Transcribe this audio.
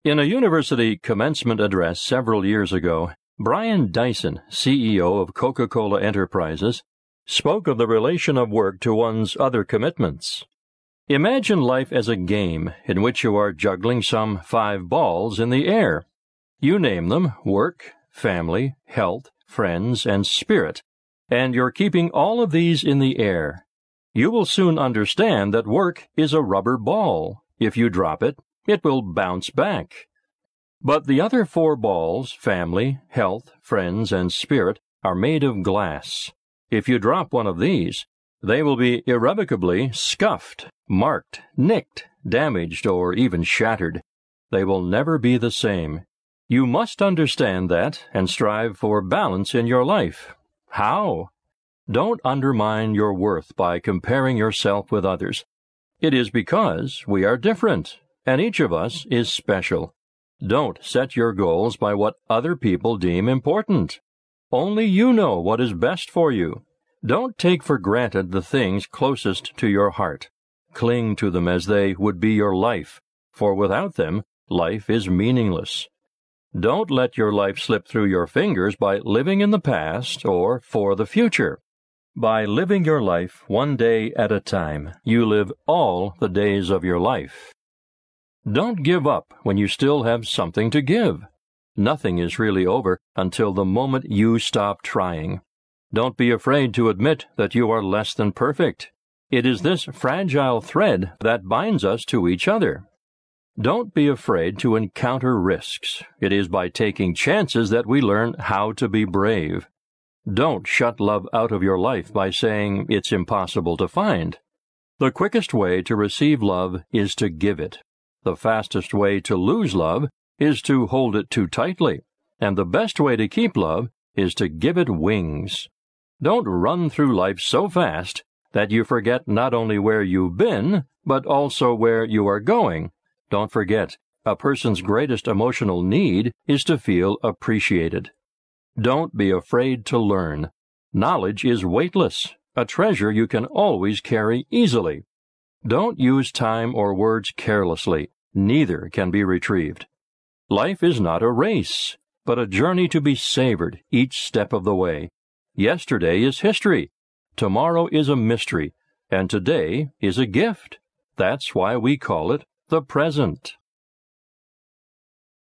In a university commencement address several years ago, Brian Dyson, CEO of Coca-Cola Enterprises, spoke of the relation of work to one's other commitments. Imagine life as a game in which you are juggling some 5 balls in the air. You name them work, family, health, friends, and spirit, and you're keeping all of these in the air. You will soon understand that work is a rubber ball. If you drop it, it will bounce back. But the other 4 balls, family, health, friends, and spirit, are made of glass. If you drop one of these, they will be irrevocably scuffed, marked, nicked, damaged, or even shattered. They will never be the same. You must understand that and strive for balance in your life. How? Don't undermine your worth by comparing yourself with others. It is because we are different, and each of us is special. Don't set your goals by what other people deem important. Only you know what is best for you. Don't take for granted the things closest to your heart. Cling to them as they would be your life, for without them, life is meaningless. Don't let your life slip through your fingers by living in the past or for the future. By living your life one day at a time, you live all the days of your life. Don't give up when you still have something to give. Nothing is really over until the moment you stop trying. Don't be afraid to admit that you are less than perfect. It is this fragile thread that binds us to each other. Don't be afraid to encounter risks. It is by taking chances that we learn how to be brave. Don't shut love out of your life by saying it's impossible to find. The quickest way to receive love is to give it. The fastest way to lose love is to hold it too tightly, and the best way to keep love is to give it wings. Don't run through life so fast that you forget not only where you've been, but also where you are going. Don't forget, a person's greatest emotional need is to feel appreciated. Don't be afraid to learn. Knowledge is weightless, a treasure you can always carry easily. Don't use time or words carelessly. Neither can be retrieved. Life is not a race, but a journey to be savored each step of the way. Yesterday is history, tomorrow is a mystery, and today is a gift. That's why we call it the present.